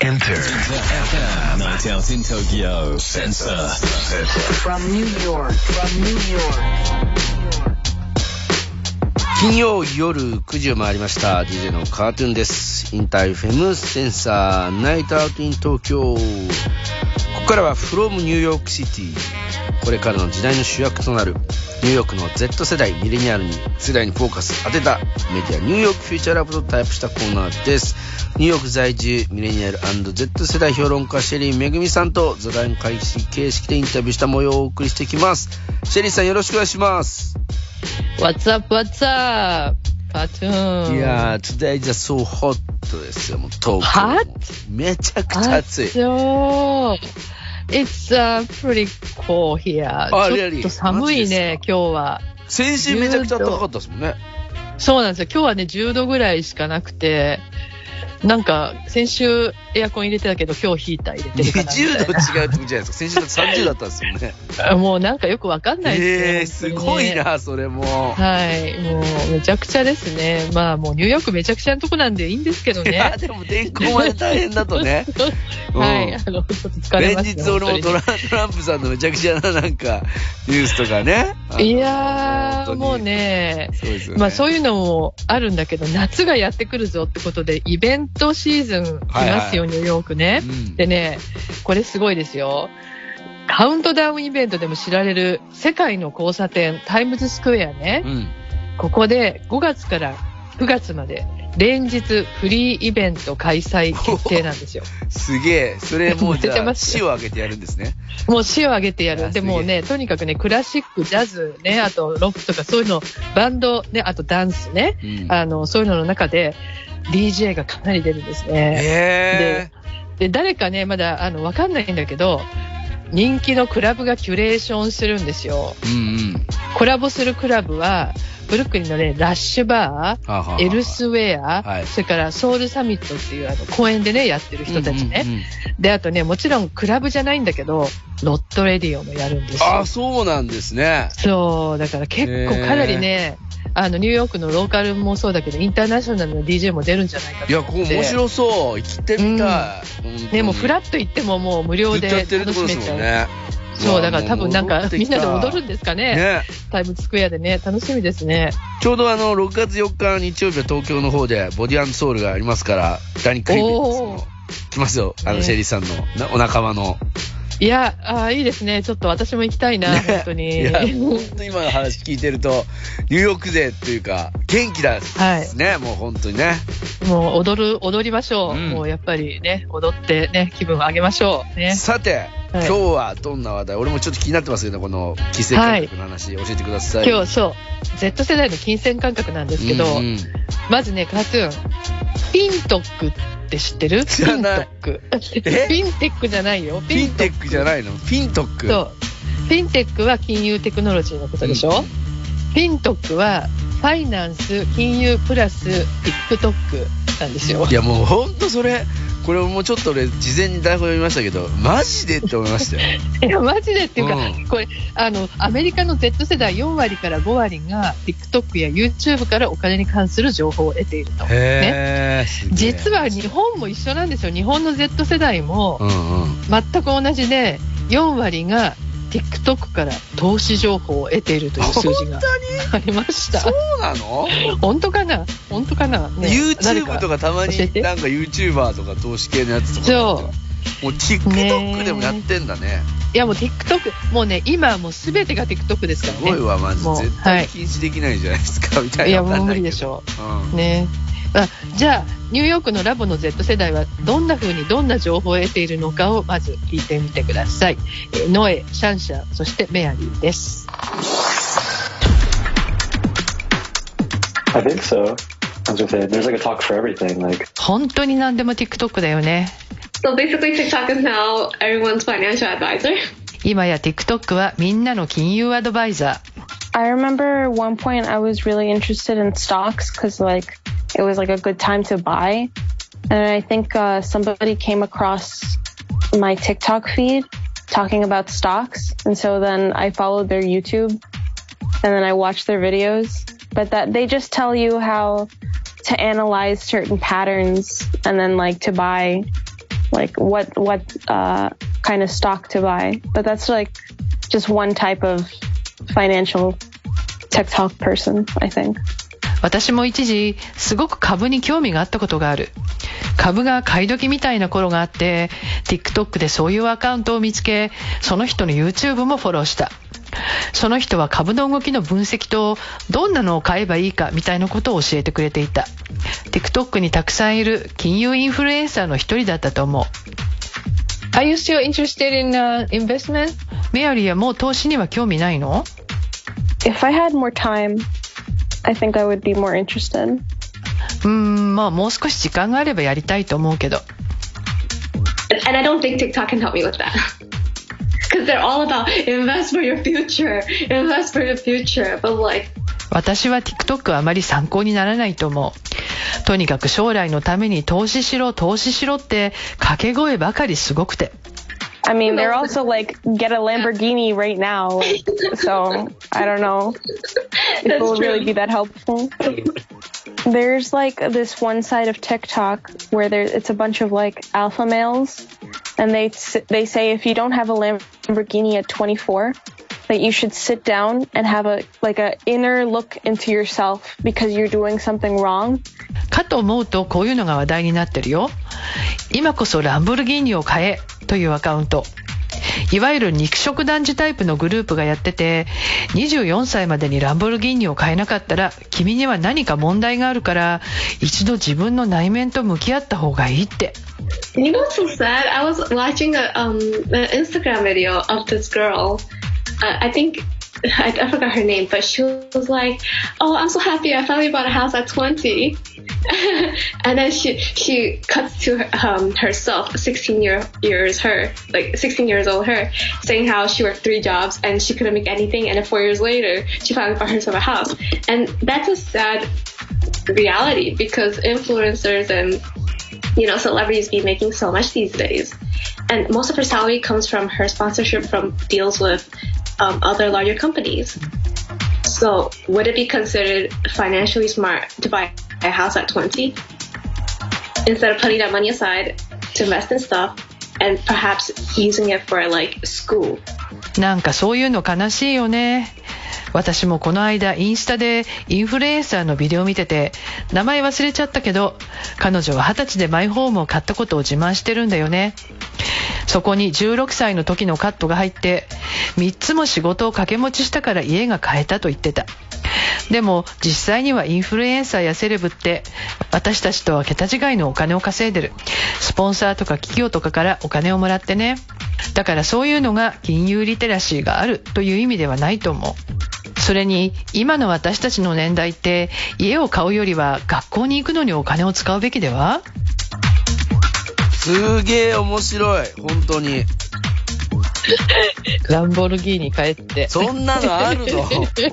Enter the FM Night Out in Tokyo Sensor From New York 金曜夜9時を回りました。 DJ のカートゥーンです。インター FM センサーナイトアウトイン東京。ここからは From New York City、 これからの時代の主役となるニューヨークの Z 世代ミレニアルに世代にフォーカス当てたメディアニューヨークフューチャーラブとタイプしたコーナーです。ニューヨーク在住ミレニアル&Z 世代評論家シェリーめぐみさんと座談会形式でインタビューした模様をお送りしていきます。シェリーさんよろしくお願いします。 What's up, what's up? Cartoon. いやー Today is so hot ですよ。もう東京 Hot? めちゃくちゃ暑い。 そうIt's pretty cold here. ちょっと寒いね今日は。 先週めちゃくちゃ暖かかったですもんね。 そうなんですよ。今日はね10度ぐらいしかなくて、なんか先週エアコン入れてたけど今日ヒーター入れてるかな 20度違うってことじゃないですか。先週だって30だったんですよね。 もうなんかよくわかんないですね。すごいなそれも。 はい、もうめちゃくちゃですね。まあもうニューヨークめちゃくちゃなとこなんでいいんですけどね。 いやでも天候まで大変だとね。 はい、ちょっと疲れますね。 連日俺もトランプさんのめちゃくちゃななんかニュースとかね。 いやーもうね、そうですよね。まあそういうのもあるんだけど、夏がやってくるぞってことでイベントシーズン来ますよ、はいはい、ニューヨークね、うん、でねこれすごいですよ。カウントダウンイベントでも知られる世界の交差点タイムズスクエアね、うん、ここで5月から9月まで連日フリーイベント開催決定なんですよ。 すげえ。それもうじゃあ市を挙げてやるんですね。 もう市を挙げてやる。でもねとにかくねクラシックジャズね、あとロックとかそういうのバンドね、あとダンスね、うん、そういうのの中でDJ がかなり出るんですね。で誰かねまだわかんないんだけど人気のクラブがキュレーションするんですよ、うんうん、コラボするクラブはブルックリンのねラッシュバー、エルスウェア、はい、それからソウルサミットっていう公園でねやってる人たちね、うんうんうん、であとねもちろんクラブじゃないんだけどロットレディオもやるんですよ。 あ、そうなんですね。 そうだから結構かなりねニューヨークのローカルもそうだけどインターナショナルの DJ も出るんじゃないかと思って。 いやこう面白そう。行ってみたい、 うん、でもフラッと行ってももう無料で楽しめちゃう、ね、そうだから多分なんかみんなで踊るんですか ねタイムズスクエアでね。楽しみですね。 ちょうど6月4日日曜日は東京の方でボディ&ソウルがありますから第2回イベント来ますよ、シェリーさんのお仲間の。 いやいいですね。ちょっと私も行きたいな、本当に。 いや本当今の話聞いてるとニューヨーク勢っていうか元気だですね、はい、もう本当にね。 もう踊りましょう、うん、もうやっぱりね踊ってね気分を上げましょうね。 さて、はい、今日はどんな話題、俺もちょっと気になってますけどこの金銭感覚の話、教えてください。 今日そう Z 世代の金銭感覚なんですけど、うんうん、まずねカートゥーンピントックって知ってる？ 知らない。 ピンテックじゃないよ。 ピンテックじゃないの？ピントック。 そうピンテックは金融テクノロジーのことでしょ、うん、ピントックはファイナンス金融プラス TikTok なんですよ。 いやもうほんとそれこれもちょっと俺事前に台本読みましたけどマジでって思いましたよ。 いやマジでっていうか、うん、これアメリカの Z 世代4割から5割が TikTok や YouTube からお金に関する情報を得ていると、ね、実は日本も一緒なんですよ。日本の Z 世代も全く同じで4割がTikTok から投資情報を得ているという数字がありました。 そうなの？ 本当かな、ね、 YouTube とかたまになんか YouTuber とか投資系のやつとかもう TikTok でもやってんだね。 いやもう TikTok もうね今はもう全てが TikTok ですからね。 すごいわマジで絶対禁止できないじゃないですか、はい、みたいな。 いやもう無理でしょう、うん、ね。じゃあニューヨークのラボの Z 世代はどんな風にどんな情報を得ているのかをまず聞いてみてください。ノエ、シャンシャ、そしてメアリーです。 I think so. I was gonna say, there's like a talk for everything. Like 本当に何でも TikTok だよね。 So basically TikTok is now everyone's financial advisor. 今や TikTok はみんなの金融アドバイザー。 I remember one point I was really interested in stocks because like it was like a good time to buy, and I think somebody came across my TikTok feed talking about stocks, and so then I followed their YouTube and then I watched their videos, but that they just tell you how to analyze certain patterns and then like to buy like what kind of stock to buy. But that's like just one type of financial TikTok person, I think. 私も一時すごく株に興味があったことがある。株が買い時みたいな頃があって TikTok でそういうアカウントを見つけ、その人の YouTube もフォローした。その人は株の動きの分析とどんなのを買えばいいかみたいなことを教えてくれていた。 TikTok にたくさんいる金融インフルエンサーの一人だったと思う。 Are you still interested in investment? メアリーはもう投資には興味ないの？ If I had more time, I think I would be more interested. まあもう少し時間があればやりたいと思うけど。 And I don't think TikTok can help me with that. Because they're all about invest for your future, invest for your future. But like, 私は TikTok はあまり参考にならないと思う。とにかく将来のために投資しろ投資しろって掛け声ばかりすごくて。 I mean, they're also like, get a Lamborghini right now. So, I don't know if it will really be that helpful. There's like this one side of TikTok where it's a bunch of like alpha males. And they say if you don't have a Lamborghini at 24, that you should sit down and have a inner look into yourself because you're doing something wrong. かと思うとこういうのが話題になってるよ。今こそランボルギーニを買えというアカウント。いわゆる肉食男児タイプのグループがやってて、24歳までにランボルギーニを買えなかったら君には何か問題があるから一度自分の内面と向き合った方がいいって。 you know what's so sad? I was watching an Instagram video of this girl. I think I forgot her name, but she was like, "Oh, I'm so happy! I finally bought a house at 20." And then she cuts to herself, 16 years old her, saying how she worked 3 jobs and she couldn't make anything, and then 4 years later she finally bought herself a house. And that's a sad reality because influencers and celebrities be making so much these days, and most of her salary comes from her sponsorship from deals with other larger companies. So would it be considered financially smart to buy a house at 20 instead of putting that money aside to invest in stuff and perhaps using it for like school? なんかそういうの悲しいよね。私もこの間インスタでインフルエンサーのビデオを見てて、名前忘れちゃったけど彼女は20歳でマイホームを買ったことを自慢してるんだよね。そこに16歳の時のカットが入って3つも仕事を掛け持ちしたから家が買えたと言ってた。でも実際にはインフルエンサーやセレブって私たちとは桁違いのお金を稼いでる。スポンサーとか企業とかからお金をもらってね。だからそういうのが金融リテラシーがあるという意味ではないと思う。それに今の私たちの年代って家を買うよりは学校に行くのにお金を使うべきでは？ すげえ面白い本当に。 ランボルギーニ買えってそんなのあるの？本気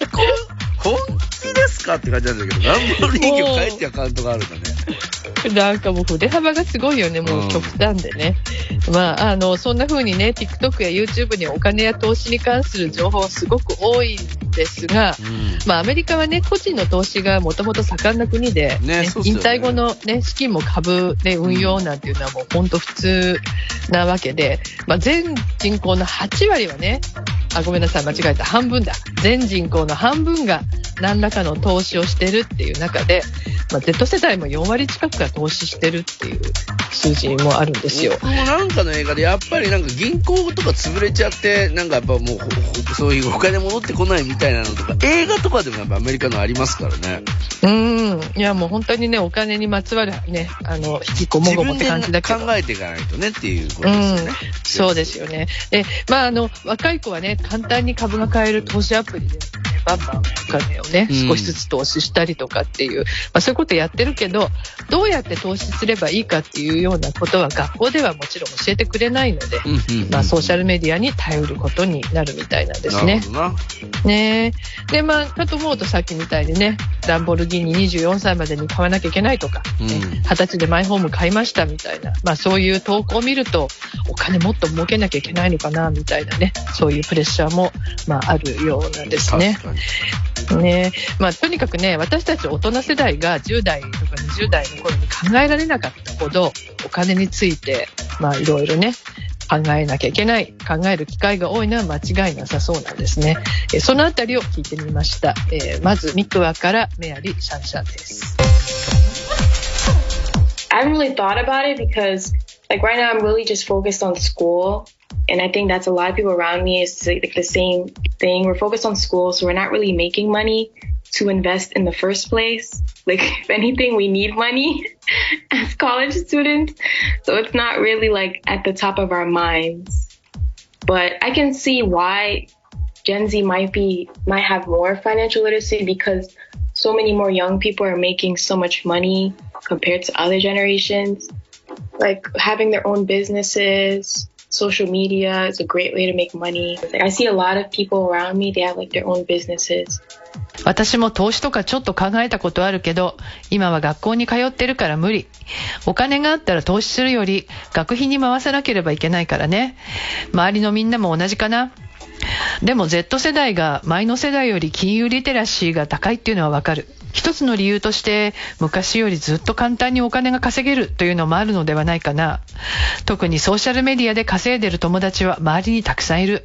ですかって感じなんだけど、ランボルギーニを買えってアカウントがあるんだね。 なんかもう筆幅がすごいよね。もう極端でね、まあそんな風にね TikTok や YouTube にお金や投資に関する情報はすごく多いんですが、まあアメリカはね個人の投資がもともと盛んな国で、ね引退後のね資金も株で運用なんていうのはもう本当普通なわけで、まあ全人口の8割はね、ごめんなさい間違えた、半分だ、全人口の半分が何らかの投資をしてるっていう中で、まあ、Z 世代も4割近くが投資してるっていう数字もあるんですよ。 もうなんかの映画でやっぱりなんか銀行とか潰れちゃってなんかやっぱもうそういうお金戻ってこないみたいなのとか映画とかでもやっぱアメリカのありますからね。 いやもう本当にねお金にまつわるね引きこもごもって感じだけど自分で考えていかないとねっていうことですよね。 そうですよね。でまあ若い子はね簡単に株が買える投資アプリで、ね、バンバンお金をね少しずつ投資したりとかっていう、まあ、そういうことやってるけどどうやって投資すればいいかっていうようなことは学校ではもちろん教えてくれないので、まあ、ソーシャルメディアに頼ることになるみたいなんですね。ねでまあかと思うとさっきみたいにねランボルギーニ24歳までに買わなきゃいけないとか、20歳でマイホーム買いましたみたいな、まあ、そういう投稿を見るとお金もっと儲けなきゃいけないのかなみたいなねそういうプレッシャーも、まあ、あるようなんですね。 感じ。 ね、まあとにかくね、私たち大人世代が10代とか20代の頃に考えられなかったほどお金についてまあいろいろね考えなきゃいけない、考える機会が多いのは間違いなさそうなんですね。そのあたりを聞いてみました。まずミクワからメアリー・シャンシャンです。 I haven't really thought about it because like right now I'm really just focused on school, and I think that's a lot of people around me is like the same thing. We're focused on school, so we're not really making money to invest in the first place. Like if anything, we need money as college students, so it's not really like at the top of our minds. But I can see why Gen Z might have more financial literacy because so many more young people are making so much money compared to other generations. Like having their own businesses, social media is a great way to make money. Like I see a lot of people around me, they have like their own businesses. 私も投資とかちょっと考えたことあるけど、今は学校に通ってるから無理。お金があったら投資するより学費に回さなければいけないからね。周りのみんなも同じかな。でも Z 世代が前の世代より金融リテラシーが高いっていうのはわかる。一つの理由として昔よりずっと簡単にお金が稼げるというのもあるのではないかな。特にソーシャルメディアで稼いでる友達は周りにたくさんいる。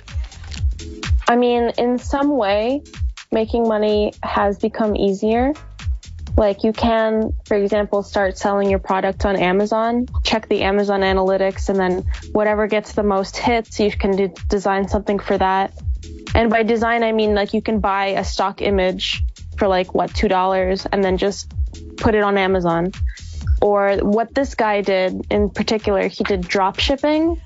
I mean, in some way, making money has become easier. Like you can, for example, start selling your product on Amazon, check the Amazon analytics, and then whatever gets the most hits, you can design something for that. And by design, I mean like you can buy a stock image for like $2 and then just put it on Amazon. Or what this guy did in particular, he did drop shipping.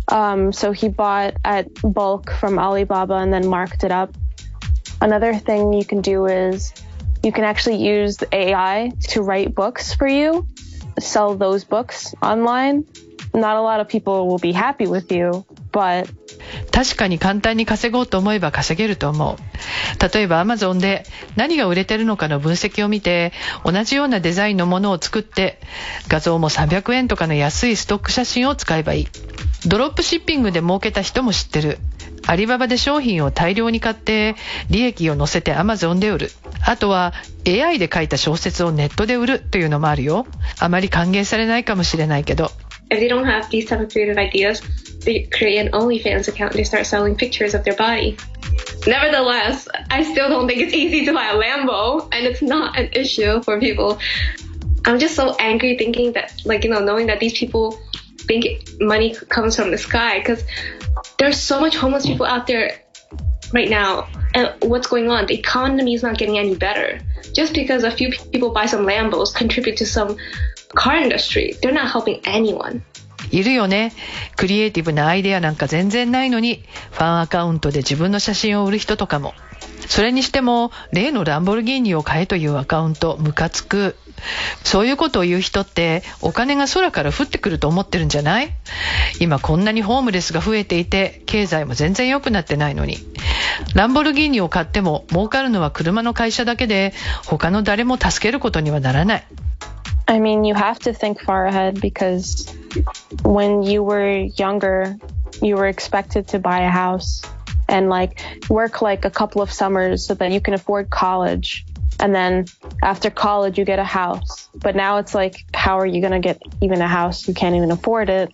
So he bought at bulk from Alibaba and then marked it up. Another thing you can do is you can actually use the AI to write books for you, sell those books online. Not a lot of people will be happy with you, but 確かに簡単に稼ごうと思えば稼げると思う。例えば Amazon で何が売れてるのかの分析を見て、同じようなデザインのものを作って、画像も300円とかの安いストック写真を使えばいい。ドロップシッピングで儲けた人も知ってる。アリババで商品を大量に買って利益を乗せて Amazon で売る。あとは AI で書いた小説をネットで売るというのもあるよ。あまり歓迎されないかもしれないけど。 If they don't have these type of creative ideas, they create an OnlyFans account and they start selling pictures of their body. Nevertheless, I still don't think it's easy to buy a Lambo, and it's not an issue for people. I'm just so angry thinking that, like, knowing that these people think money comes from the sky, because there's so much homeless people out there right now. And what's going on? The economy is not getting any better. Just because a few people buy some Lambos, contribute to some car industry, they're not helping anyone. いるよね。クリエイティブなアイデアなんか全然ないのに、ファンアカウントで自分の写真を売る人とかも。それにしても、例のランボルギーニを買えというアカウント、ムカつく。そういうことを言う人って、お金が空から降ってくると思ってるんじゃない？今こんなにホームレスが増えていて、経済も全然良くなってないのに。ランボルギーニを買っても、儲かるのは車の会社だけで、他の誰も助けることにはならない。 I mean, you have to think far ahead because when you were younger, you were expected to buy a house and like work like a couple of summers so that you can afford college. And then after college, you get a house. But now it's like, how are you going to get even a house? You can't even afford it.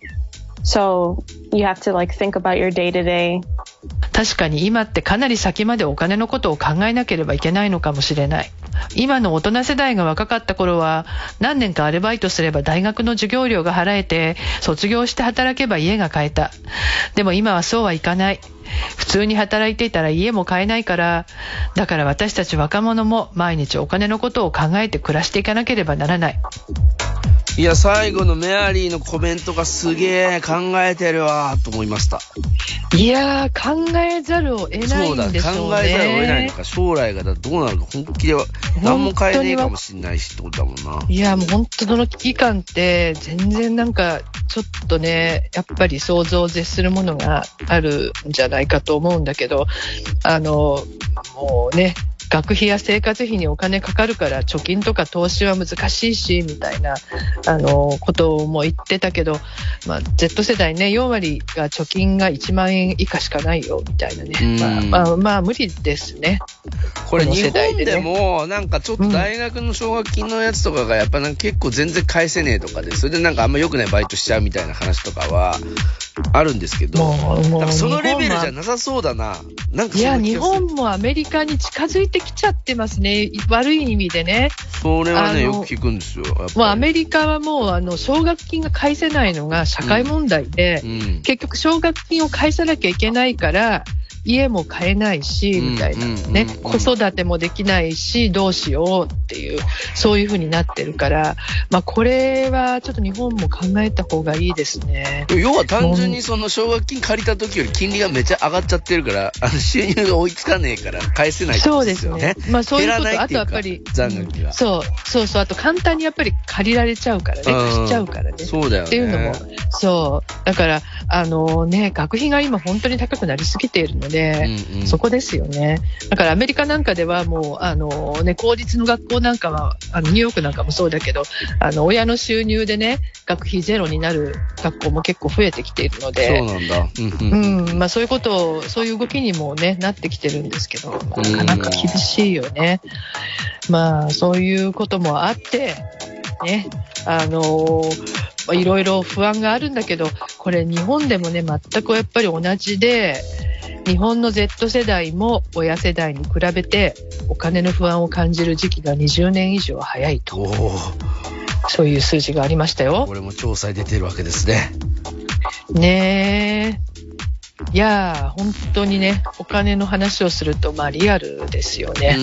So you have to like think about your day to day. 確かに今ってかなり先までお金のことを考えなければいけないのかもしれない。今の大人世代が若かった頃は何年かアルバイトすれば大学の授業料が払えて卒業して働けば家が買えた。でも今はそうはいかない。普通に働いていたら家も買えないから、だから私たち若者も毎日お金のことを考えて暮らしていかなければならない。 いや、最後のメアリーのコメントがすげえ考えてるわと思いました。 いやー、考えざるを得ないんでしょうね。 そうだ、考えざるを得ないのか、将来がどうなるか本気では何も変えねえかもしれないしってことだもんな。 いや、もう本当その危機感って全然なんかちょっとね、やっぱり想像を絶するものがあるんじゃないかと思うんだけど、もうね、 学費や生活費にお金かかるから貯金とか投資は難しいしみたいなことも言ってたけど、まあ、Z 世代ね4割が貯金が1万円以下しかないよみたいなね、まあ無理ですね。 これ日本でもなんかちょっと大学の奨学金のやつとかがやっぱなんか結構全然返せねえとかで、それでなんかあんま良くないバイトしちゃうみたいな話とかはあるんですけど、なんかそのレベルじゃなさそうだな。なんかいや日本もアメリカに近づいてきちゃってますね、悪い意味でね。 それはねよく聞くんですよ。やっぱりもうアメリカはもう奨学金が返せないのが社会問題で、結局奨学金を返さなきゃいけないから家も買えないしみたいなね、子育てもできないしどうしようっていうそういう風になってるから、まあこれはちょっと日本も考えた方がいいですね。 要は単純にその奨学金借りた時より金利がめっちゃ上がっちゃってるから収入が追いつかねえから返せないってことですよね。 そうですね。まあそういうこと、あとやっぱり残額が、 そうあと簡単にやっぱり借りられちゃうからね、貸しちゃうからね。 そうだよね。 っていうのもそうだからね学費が今本当に高くなりすぎているので、そこですよね。だからアメリカなんかではもうね公立の学校なんかはニューヨークなんかもそうだけど親の収入でね学費ゼロになる学校も結構増えてきているので、 そうなんだ。 まあそういうことそういう動きにもねなってきてるんですけど、なかなか厳しいよね。まあそういうこともあってねいろいろ不安があるんだけど、これ日本でもね全くやっぱり同じで、日本の Z 世代も親世代に比べてお金の不安を感じる時期が20年以上早いと、そういう数字がありましたよ。 これも調査に出てるわけですね。 ねえ、いや本当にねお金の話をするとまあリアルですよね。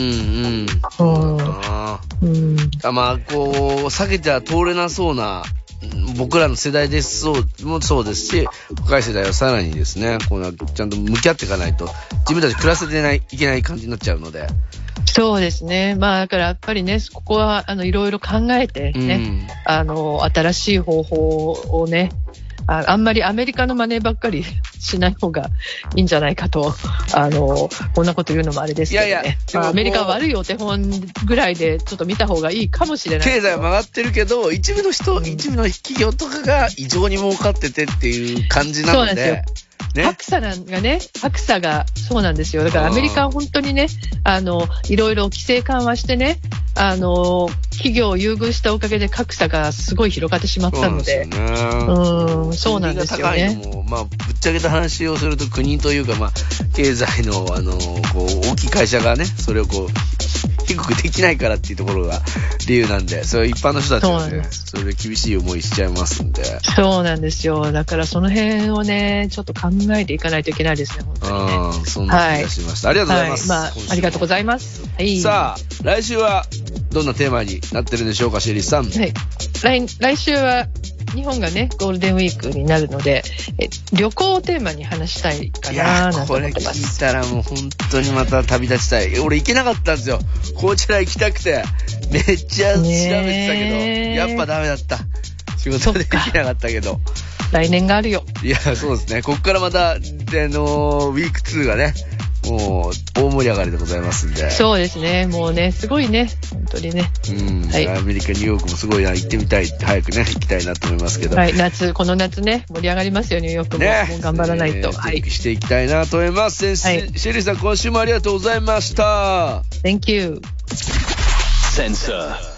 まあこう避けては通れなそうな僕らの世代ですもそうですし、若い世代はさらにですねこうちゃんと向き合っていかないと自分たち暮らせていけない感じになっちゃうので。 そうですね。まあだからやっぱりねここはいろいろ考えてね、新しい方法をねあんまりアメリカの真似ばっかりしない方がいいんじゃないかとこんなこと言うのもあれですけどね。いやいやアメリカは悪いお手本ぐらいでちょっと見た方がいいかもしれない。 経済は曲がってるけど一部の企業とかが異常に儲かっててっていう感じなので。そうなんですよ。格差がそうなんですよ。だからアメリカは本当にねいろいろ規制緩和してね企業を優遇したおかげで格差がすごい広がってしまったので、そうなんですよね。まあぶっちゃけた話をすると国というかまあ経済のこう大きい会社がねそれをこう低くできないからっていうところが理由なんで、それ一般の人たちはねそれで厳しい思いしちゃいますんで。 そうなんですよ。だからその辺をねちょっと考えていかないといけないですね本当にね。 そんな気がしました、ありがとうございます、 ありがとうございます、 さあ来週はどんなテーマになってるんでしょうか、シェリーさん。 来週は日本がねゴールデンウィークになるので旅行をテーマに話したいかななんて思ってます。 これ聞いたらもう本当にまた旅立ちたい。俺行けなかったんですよ。こちら行きたくてめっちゃ調べてたけどやっぱダメだった。仕事でできなかったけど来年があるよ。 いやそうですね。こっからまたウィーク2がねもう大盛り上がりでございますんで。 そうですね。もうねすごいね本当にね。 アメリカニューヨークもすごいな、行ってみたい、早くね行きたいなと思いますけど。 この夏ね盛り上がりますよニューヨークも。もう頑張らないと。 チェックしていきたいなと思います。シェリーさん今週もありがとうございました。 Thank you. Sensor